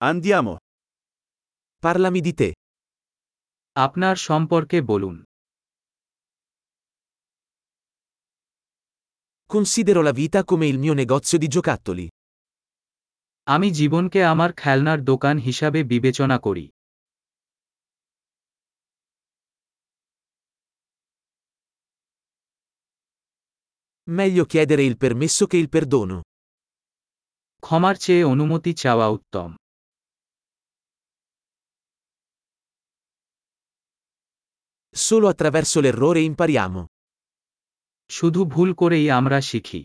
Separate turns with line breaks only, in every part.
Andiamo.
Parlami di te.
আপনার সম্পর্কে বলুন।
Considero la vita come il mio negozio di giocattoli.
আমি জীবনকে আমার খেলনার দোকান হিসাবে বিবেচনা করি।
Meglio chiedere il permesso che il perdono.
ক্ষমার চেয়ে অনুমতি চাওয়া উত্তম।
Solo attraverso l'errore impariamo.
শুধু ভুল করেই আমরা শিখি।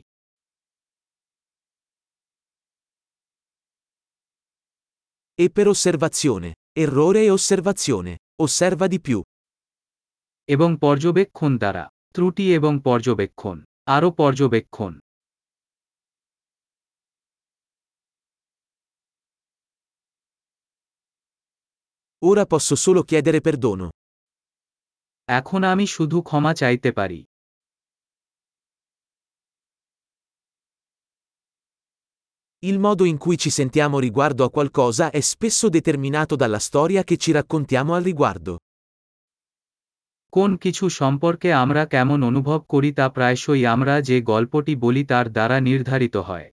E per osservazione. Errore e osservazione. Osserva di più.
এবং পর্যবেক্ষণ দ্বারা। ত্রুটি এবং পর্যবেক্ষণ। আরও পর্যবেক্ষণ।
Ora posso solo chiedere perdono.
এখন আমি শুধু ক্ষমা চাইতে পারি।
Il modo in cui ci sentiamo riguardo a qualcosa è spesso determinato dalla storia che ci raccontiamo al riguardo.
কোন কিছু সম্পর্কে আমরা কেমন অনুভব করি তা প্রায়শই আমরা যে গল্পটি বলি তার দ্বারা নির্ধারিত হয়।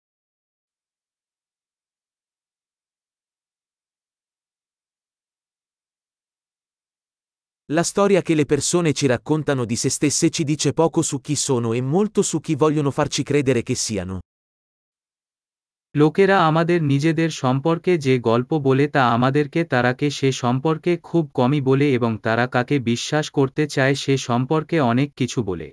La storia che le persone ci raccontano di se stesse ci dice poco su chi sono e molto su chi vogliono farci credere che siano.
লোকেরা আমাদের নিজেদের সম্পর্কে যে গল্প বলে তা আমাদেরকে তারাকে সে সম্পর্কে খুব কমই বলে এবং তারা কাকে বিশ্বাস করতে চায় সে সম্পর্কে অনেক কিছু বলে।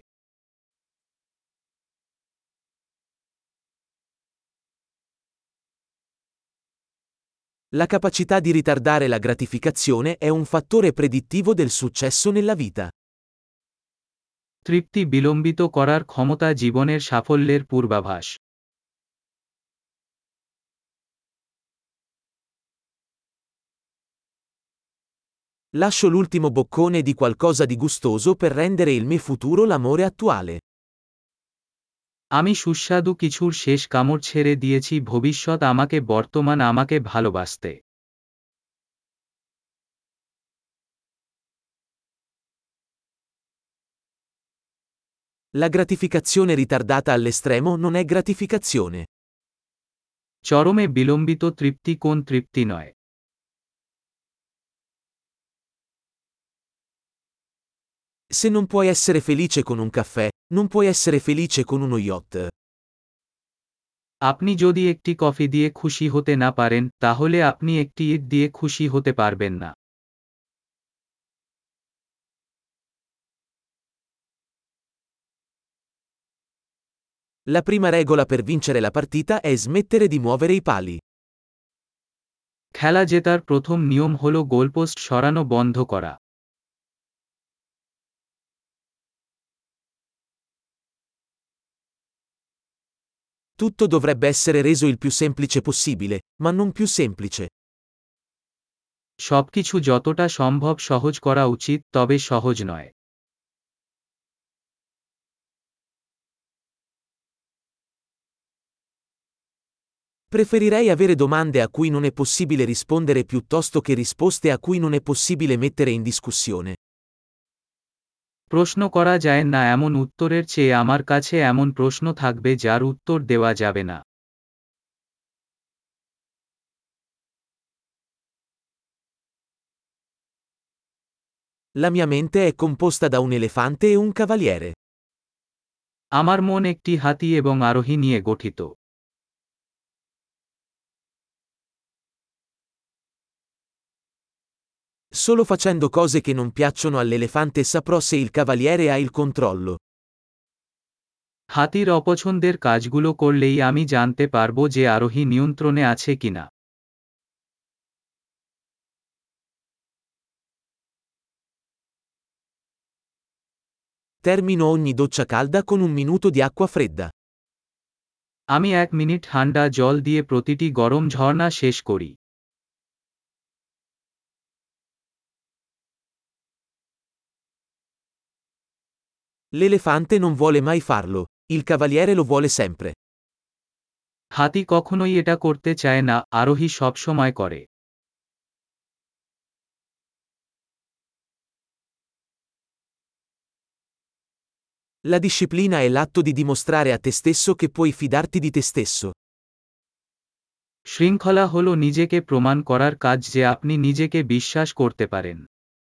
La capacità di ritardare la gratificazione è un fattore predittivo del successo nella vita.
তৃপ্তি বিলম্বিত করার ক্ষমতা জীবনের সাফল্যের পূর্বাভাস।
Lascio l'ultimo boccone di qualcosa di gustoso per rendere il mio futuro l'amore attuale.
আমি সুস্বাদু কিছুর শেষ কামড় ছেড়ে দিয়েছি ভবিষ্যৎ আমাকে বর্তমান আমাকে ভালোবাসতে।
La gratificazione ritardata all'estremo non è gratificazione.
চরমে বিলম্বিত তৃপ্তি কোন তৃপ্তি নয়।
Se non puoi essere felice con un caffè, non puoi essere felice con uno yacht.
আপনি যদি একটি কফি দিয়ে খুশি হতে না পারেন তাহলে আপনি একটি ইট দিয়ে খুশি হতে পারবেন না।
La prima regola per vincere la partita è smettere di muovere i pali.
খেলা জেতার প্রথম নিয়ম হল গোলপোস্ট সরানো বন্ধ করা।
Tutto dovrebbe essere reso il più semplice possibile, ma non più semplice.
সবকিছু যতটা সম্ভব সহজ করা উচিত তবে সহজ নয়।
Preferirei avere domande a cui non è possibile rispondere piuttosto che risposte a cui non è possibile mettere in discussione.
প্রশ্ন করা যায় না এমন উত্তরের চেয়ে আমার কাছে এমন প্রশ্ন থাকবে যার উত্তর দেওয়া যাবে না।
La mia mente è composta da un elefante e un cavaliere.
আমার মন একটি হাতি এবং আরোহী নিয়ে গঠিত।
Solo facendo cose che non piacciono all'elefante saprò se il cavaliere ha il controllo.
হাতির অপছন্দের কাজগুলো করলেই আমি জানতে পারব যে আরোহী নিয়ন্ত্রণে আছে কিনা।
Termino ogni doccia calda con un minuto di acqua fredda.
আমি 1 মিনিট ঠান্ডা জল দিয়ে প্রতিটি গরম ঝর্ণা শেষ করি।
L'elefante non vuole mai farlo, il cavaliere lo vuole sempre.
হাতি কখনোই এটা করতে চায় না, আরোহী সবসময় করে।
La disciplina è l'atto di dimostrare a te stesso che puoi fidarti di te stesso.
শৃঙ্খলা হলো নিজেকে প্রমাণ করার কাজ যে আপনি নিজেকে বিশ্বাস করতে পারেন।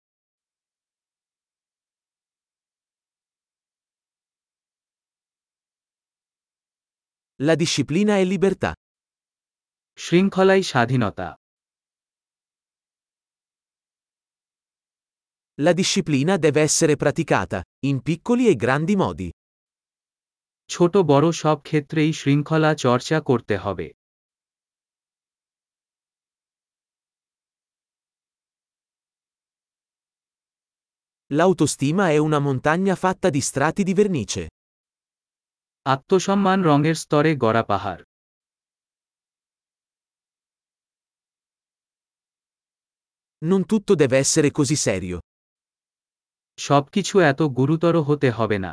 La disciplina è libertà.
শৃঙ্খলাই স্বাধীনতা।
La disciplina deve essere praticata, in piccoli e grandi modi.
ছোট বড় সব ক্ষেত্রেই শৃঙ্খলা চর্চা করতে হবে।
L'autostima è una montagna fatta di strati di vernice.
আত্মসম্মান রঙের স্তরে গড়া পাহাড়।
Non tutto deve essere così serio.
সবকিছু এত গুরুতর হতে হবে না।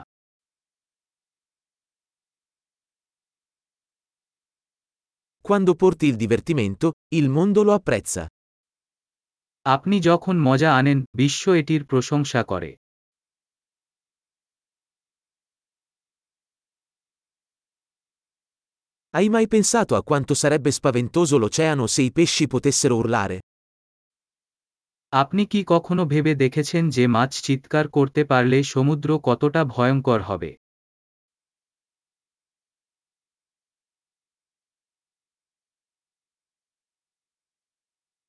Quando porti il divertimento, il mondo lo apprezza.
আপনি যখন মজা আনেন, বিশ্ব এটির প্রশংসা করে।
Hai mai pensato a quanto sarebbe spaventoso l'oceano se i pesci potessero urlare?
আপনি কি কখনো ভেবে দেখেছেন যে মাছ চিৎকার করতে পারলে সমুদ্র কতটা ভয়ঙ্কর হবে?